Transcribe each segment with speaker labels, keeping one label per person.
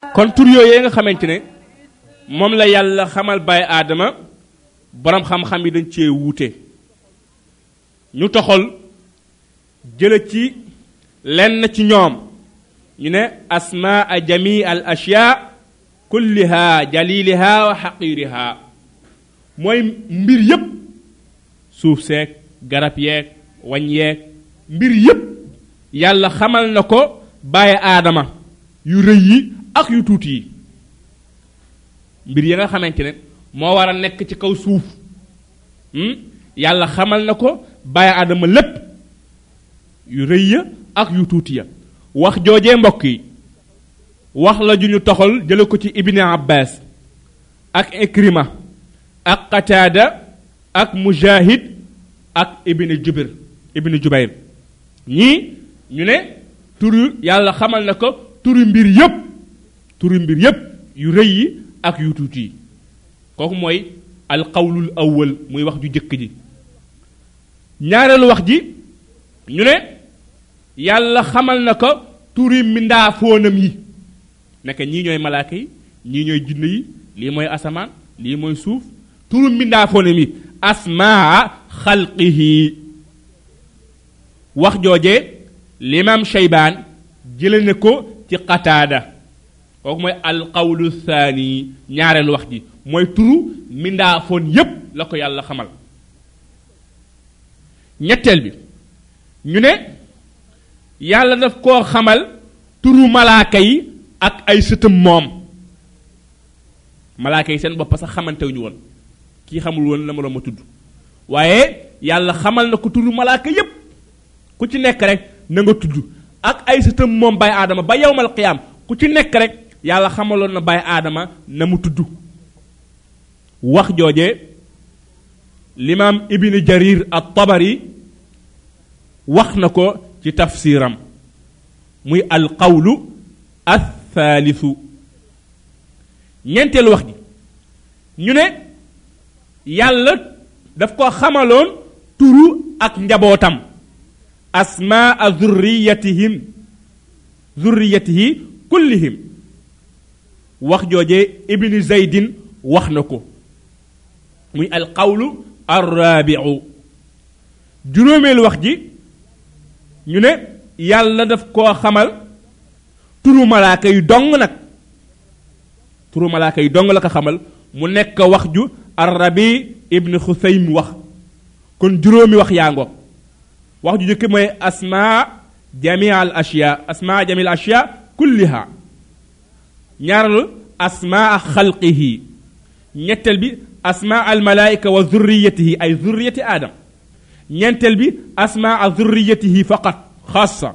Speaker 1: kon tur yooyee nga xamante ne moom la yàlla xamal baay aadama borom xam-xam yi dañ cee wuute ñu toxal jële ci lenn ci ñoom ñu ne asmaa jami al ashyaa kulliha jaliliha wa xaqiriha mooy mbir yépp suuf seeg garab yeeg wañ yeeg mbir yépp yàlla xamal na ko bàyyi aadama yu rëy yi ak yu tuuti yi mbir yi nga xamante ne moo war a nekk ci kaw suuf yàlla xamal na ko bàyyi aadama lépp yu rëy ya ak yu tuuti ya wax joojee mbokk yi wax la ju ñu toxal jële ko ci ibni abbas ak ikrima ak qataada ak mujahid ak ibni jubayr ñii ñu ne turu yàlla xamal na ko turu mbir yépp yu rëy yi ak yu tuuti yi kooku mooy alqawlul awwal muy wax ju jëkk ji ñaareelu wax ji ñu ne yàlla xamal na ko turi mbindaafoonam yi nekk ñii ñooy malaaka yi ñii ñooy jinne yi lii mooy asamaan lii mooy suuf turu mbindaafoonam yi asmaa xalqihi wax joojee l'imam Shaybaan jële na ko ci Qataada kooku mooy alqawlu thani ñaareelu wax ji mooy turu mbindaafoon yépp la ko yàlla xamal ñetteel bi ñu ne yàlla daf koo xamal turu malaaka yi ak ay sëtam moom malaaka yi seen bopp sax xamantewuñu woon kii xamul woon la ma doon ma tudd waaye yàlla xamal na ko turu malaaka yépp ku ci nekk rek na nga tudd ak ay sëtam moom baay aadama ba yawmal qiyaam ku ci nekk rek yàlla xamaloon na baay aadama na mu tudd wax jooje l'imam ibn jarir at-tabari wax na ko ci tafsiram muy alqawlu athalithu ñeenteelu wax ji ñu ne yàlla daf ko xamaloon turu ak njabootam asmaa zurriyatihi kullihim wax jooje ibn zaydin wax na ko muy alqawlu arrabiu juróomeelu wax ji ñu ne yàlla daf koo xamal turu malaaka yu dong nag turu malaaka yu dong la ko xamal mu nekk wax ju arrabi ibn xusaym wax kon juróomi wax yaa ngoog wax ju jëkk mooy asmaa jami al ashya kulliha ñaareelu asmaa xalqihi ñetteel bi asmaa al malaika wa zurriyatihi ay zurriyati adam ñeenteel bi asmaa zurriyatihi faqat xaasa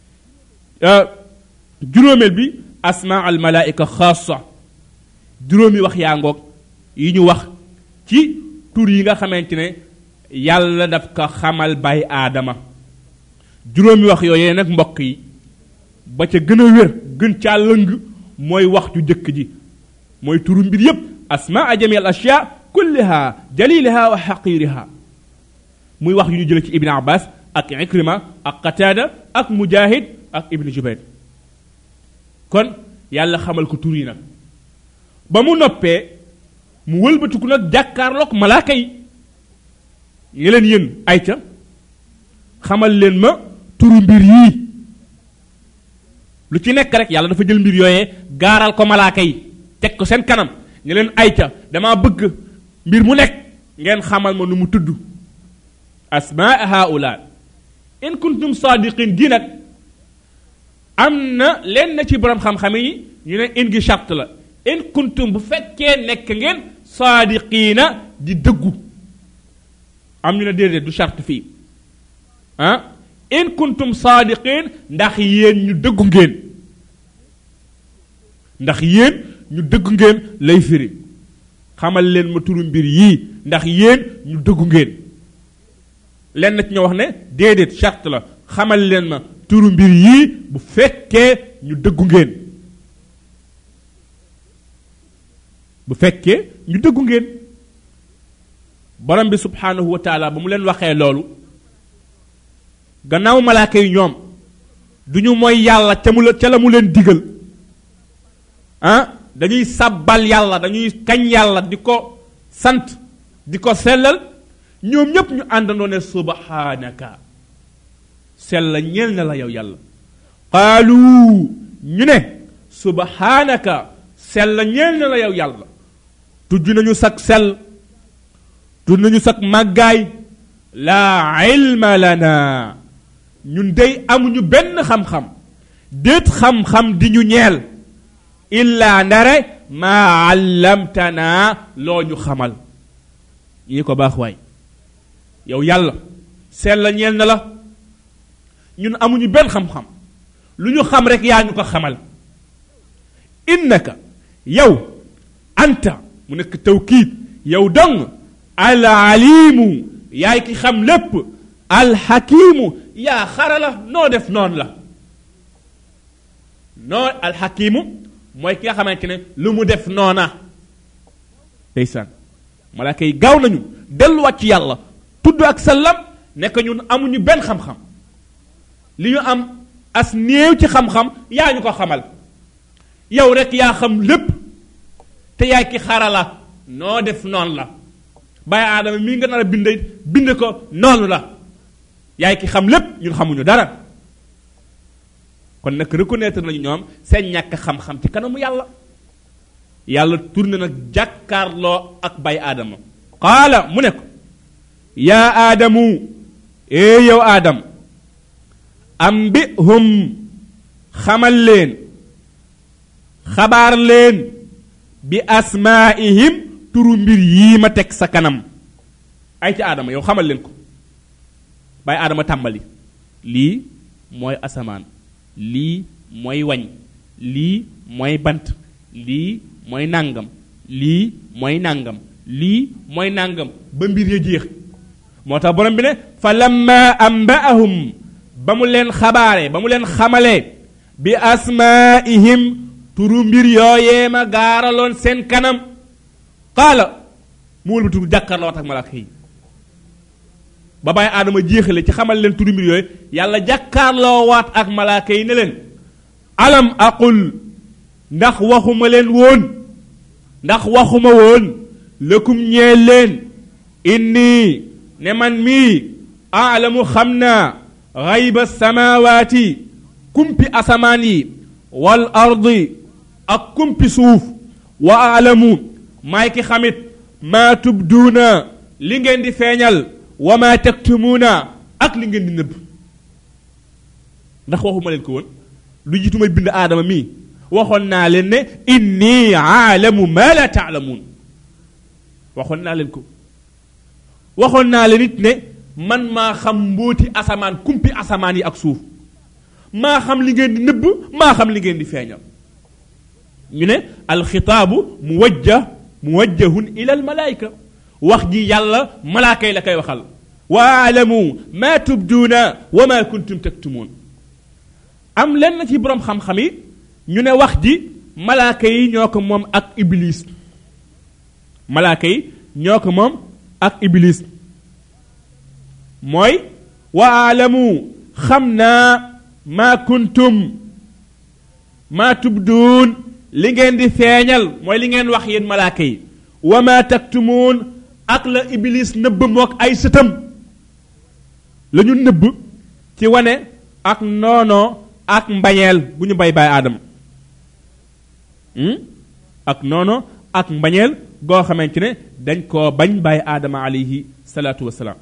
Speaker 1: juróomeel bi asmaa al malaika xaasa juróomi wax yaa ngoog yi ñu wax ci tur yi nga xamante ne yàlla daf ko xamal bay aadama juróomi wax yooyee nag mbokk yi ba ca gën a wér gën caa lëng mooy wax ju jëkk ji mooy turu mbir yépp asmaa jami al ashya kulliha jaliliha wa xaqiriha muy wax yu ñu jële ci ibn abbas ak ikrima ak qataada ak mujahid ak ibn jubayr kon yàlla xamal ko tur yi nag ba mu noppee mu wëlbatiku nag jàkkaarloog malaaka yi ngi leen yéen ayca xamal leen ma turu mbir yii lu ci nekk rek yàlla dafa jël mbir yooyee gaaral ko malaaka yi teg ko seen kanam ñu leen ayca dama bëgg mbir mu nekk ngeen xamal ma nu mu tudd asmaa haula in kuntum sadiqin gi nag am na leen na ci borom xam-xam yi ñu ne in gi charte la in kuntum bu fekkee nekk ngeen sadiqina di dëggu am ñu ne déedéet du charte fii in kuntum sadiqin ndax yéen ñu dëggu ngeen lay firi xamal leen ma turu mbir yii ndax yéen ñu dëggu ngeen leen na ci ñoo wax ne déedéet charte la xamal leen ma turu mbir yii bu fekkee ñu dëggu ngeen borom bi subhanahu wa taala ba mu leen waxee loolu gannaaw malaaka yi ñoom duñu mooy yàlla ca la mu leen digal dañuy sabbal yàlla dañuy kañ yàlla di ko sant di ko sellal ñoom ñépp ñu àndandoo ne subhanaka sell ñeel na la yow yàlla qaalu ñu ne subhanaka sell ñeel na la yow yàlla tudd nañu sag sell tudd nañu sag màggaay laa ilma lana ñun dey amuñu benn xam-xam déet xam-xam di ñu ñeel illa ndare maa allamtana loo ñu xamal ñii ko baax waay yow yàlla sell ñeel na la ñun amuñu benn xam-xam lu ñu xam rek yaa ñu ko xamal innaka yow anta mu nekk tawkiid yow dong al alimu yaay ki xam lépp al hakimu yaa xarala noo def noonu la noo al hakimu mooy ki nga xamante ne lu mu def noona ndeysaan malaaka yi gaaw nañu delluwaat ci yàlla tudd ak sallam nekk ñun amuñu benn xam-xam li ñu am as néew ci xam-xam yaa ñu ko xamal yow rek yaa xam lépp te yaay ki xarala noo def noonu la bàyyi aadama mii nga nar a bind ko noonu la yaay ki xam lépp ñun xamuñu dara kon nag reconnaître nañu ñoom seen ñàkk xam-xam ci kanamu yàlla yàlla tourné nag jàkkaarloo ak bàyyi aadama qaala mu ne ko yaa aadamu yow aadam ambihum xamal leen xabaar leen bi asmaa'ihim turu mbir yii ma teg sa kanam ay ci aadama yow xamal leen ko bàyyi aadama tàmbali lii mooy asamaan lii mooy wañ lii mooy bant lii mooy nàngam lii mooy nàngam lii mooy nàngam ba mbir ya jeex moo tax borom bi ne fa lamma ambaahum ba mu leen xabaare ba mu leen xamalee bi asmaa'ihim turu mbir yooyee ma gaaraloon seen kanam qaala mu wëlbatu jàkkaarloo ak malaaka yi ba bàyyi aadama jeexale ci xamal leen turu mbir yooyu yàlla jàkkaarloo waat ak malaaka yi ne leen alam aqul ndax waxuma leen woon ndax waxuma woon lëkum ñee leen inni ne man mii aalamu xam naa xayba samawaati kumpi asamaan yi wal ardi ak kumpi suuf wa aalamu maay ki xamit maa tubduuna li ngeen di feeñal wa maa taktumuuna ak li ngeen di nëbb ndax waxuma leen ko woon lu jiitu may bind aadama mii waxoon naa leen ne inni aalamu ma la taalamuun waxoon naa leen ko waxoon naa leen it ne man maa xam mbóoti asamaan kumpi asamaan yi ak suuf maa xam li ngeen di nëbb maa xam li ngeen di feeñal ñu ne alxitaabu muwajjahun ila almalaayika wax ji yàlla malaaka yi la koy waxal wa aalamu ma tubduuna wa ma kuntum taktumuun am lenn ci borom xam-xam yi ñu ne wax ji malaaka yi ñoo ko moom ak iblis malaaka yi ñoo ko moom ak iblis mooy wa aalamu xam naa maa kuntum maa tubduun li ngeen di feeñal mooy li ngeen wax yéen malaaka yi wa maa taktumuun ak la iblis nëbb mook ay sëtam la ñu nëbb ci wane ak noonoo ak mbañeel bu ñu bay aadama ak noonoo ak mbañeel goo xamante ne dañ koo bañ bàyyi aadama alayhi salaatu wasalaam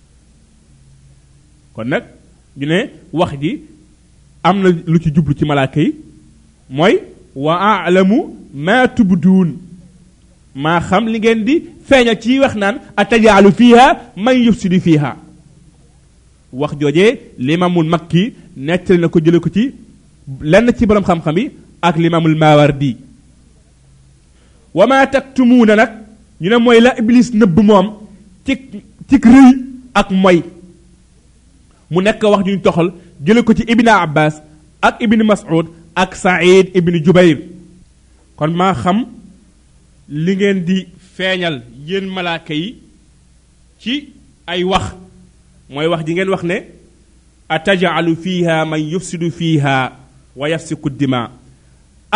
Speaker 1: kon nag ñu ne wax ji am na lu ci jublu ci malaaka yi mooy wa aalamu maa tubduun maa xam li ngeen di feeñal ci wax naan atajaalu fiiha man yufsidu fiiha wax joojee limaamul makki nettali na ko jële ko ci lenn ci borom xam-xam yi ak limaamul maawardi wa maa taktumuuna nag ñu ne mooy la iblis nëbb moom ci rëy ak moy mu nekk wax ñu toxal jële ko ci ibn abbas ak ibn mas'ud ak saïd ibn jubayr kon maa xam li ngeen di feeñal yéen malaaka yi ci ay wax mooy wax ji ngeen wax ne atajalu fiha man yufsidu fiha wa yafsiku dima ak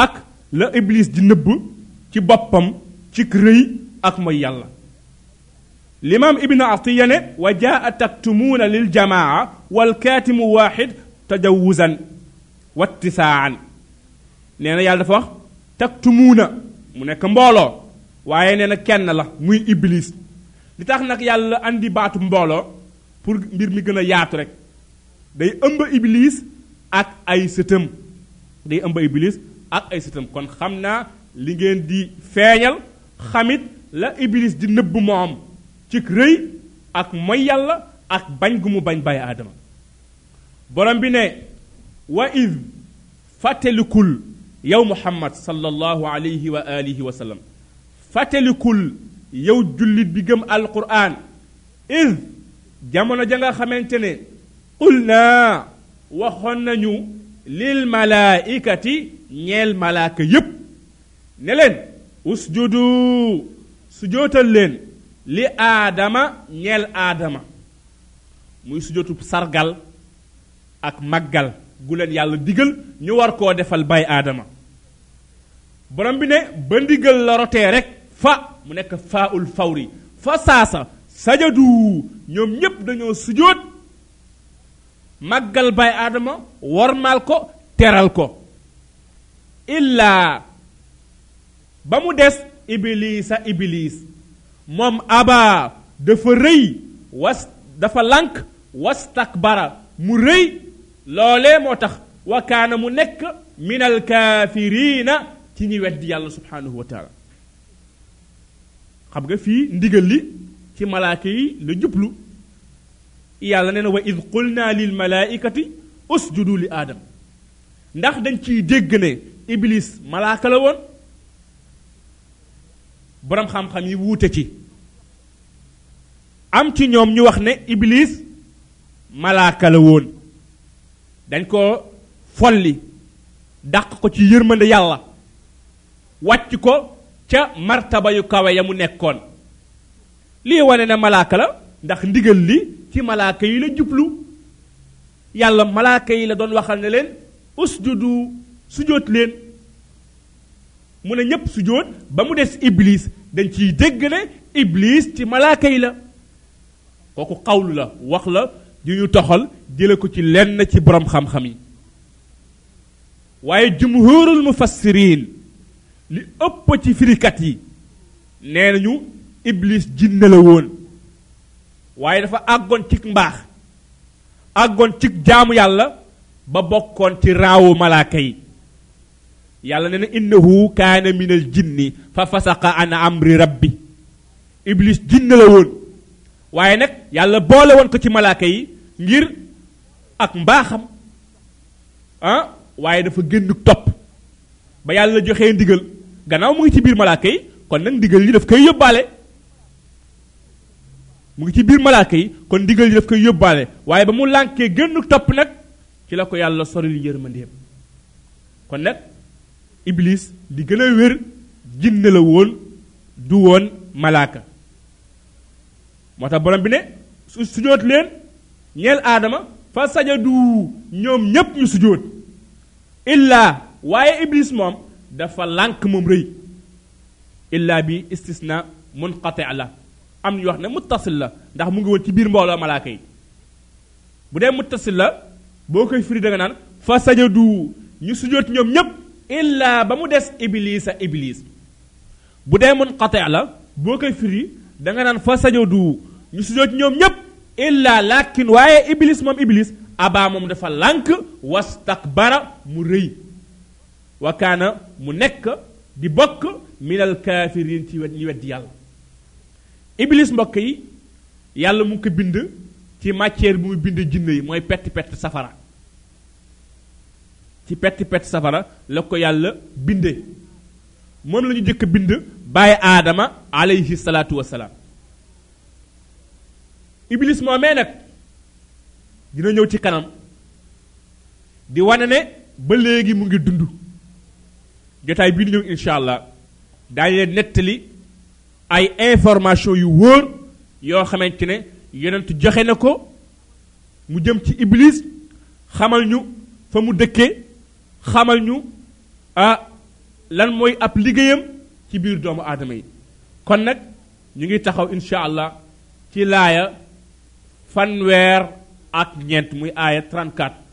Speaker 1: la iblis di nëbb ci boppam ci rëy ak mooy yàlla l'imam ibn atiya ne wa jaa taktumuuna lil jamaa wal kaatimu waaxid tajawuzan wattisaan nee na yàlla dafa wax taktumuuna mu nekk mbooloo waaye nee na kenn la muy iblis li tax nag yàlla andi baatu mbooloo pour mbir mi gën a yaatu rek day ëmb iblis ak ay sëtam day ëmb iblis ak ay sëtam kon xam naa li ngeen di feeñal xamit la iblis di nëbb moom ci rëy ak mooy yàlla ak bañ gu mu bañ bàyyi aadama borom bi ne wa id fàttalikul yow muhammad sallallahu alayhi wa alihi wa sallam fàttalikul yow jullit bi gëm alquran id jamono ja nga xamante ne qul naa waxoon nañu lil malaikati ñeel malaaka yépp ne leen usjudu sujootal leen li aadama ñeel aadama muy sujootu sargal ak màggal gu leen yàlla digal ñu war koo defal bay aadama borom bi ne ba ndigal la rotee rek fa mu nekk faa ul fawri fa saasa sajadu ñoom ñépp dañoo sujoot màggal bay aadama wormaal ko teral ko illaa ba mu des iblisa iblis moom aba dafa rëy dafa lànk wastakbara mu rëy loolee moo tax wa kaana mu nekk minal kaafiriina ci ñi weddi yàlla subhanahu wa taala xam nga fii ndigal li ci malaaka yi la jublu yàlla nee na wa id qulna lil malaikati usjudu li aadam ndax dañ ciy dégg ne iblis malaaka la woon boroom xam-xam yi wuute ci am ci ñoom ñu wax ne iblis malaaka la woon dañ ko folli dàq ko ci yërmande yàlla wàcc ko ca martaba yu kawe ya mu nekkoon lii wane ne malaaka la ndax ndigal li ci malaaka yi la jublu yàlla malaaka yi la doon waxal ne leen usjudu sujoot leen mu ne ñépp sujoot ba mu des iblis dañ ciy dégg ne iblis ci malaaka yi la kooku xawlu la wax la yu ñu toxal jële ko ci lenn ci borom xam-xam yi waaye jumhurul mufassirin li ëpp ci firikat yi nee nañu iblis jinne la woon waaye dafa àggoon ci mbaax àggoon ci jaamu yàlla ba bokkoon ci raawu malaaka yi yàlla nee na innahu kaana minal jinni fa fasaqa an amri rabbi iblis jinne la woon waaye nag yàlla boole woon ko ci malaaka yi ngir ak mbaaxam waaye dafa génn topp ba yàlla joxee ndigal gannaaw mu ngi ci biir malaaka yi kon nag ndigal li daf koy yóbbaale mu ngi ci biir malaaka yi kon ndigal li daf koy yóbbaale waaye ba mu lànkee génn topp nag ci la ko yàlla soril yërmandeem kon nag iblis di gën a wér jinne la woon du woon malaaka moo tax borom bi ne sujoot leen ñeel aadama fa sajadu ñoom ñépp ñu sujoot illaa waaye iblis moom dafa lànk moom rëy illaa bi istisna munqati la am ñu wax ne muttasil la ndax mu ngi woon ci biir mbooloo malaaka yi bu dee muttasil la boo koy firi da nga naan fa sajadu ñu sujoot ñoom ñépp illaa ba mu des iblisa iblis bu dee munqati la boo koy firi da nga naan fa sajadu ñu sujoot ñoom ñépp illaa lakin waaye iblis moom iblis abaa moom dafa lànk wastakbara mu rëy wa kaana mu nekk di bokk minal kaafiriin ci ñi weddi yàlla iblis mbokk yi yàlla mu ngi ko bind ci matière bi muy bind jinne yi mooy pett safara ci pett safara la ko yàlla binde moom la ñu jëkk bind bàyyi aadama alayhi salaatu wassalaam iblis moomee nag dina ñëw ci kanam di wane ne ba léegi mu ngi dund jotaay bii di ñëw insha allah daañu leen nettali ay information yu wóor yoo xamante ne yonent joxe na ko mu jëm ci iblis xamal ñu fa mu dëkkee xamal ñu lan mooy ab liggéeyam ci biir doomu aadama yi kon nag ñu ngi taxaw insha allah ci laaya fanweer ak ñeent muy aaya 34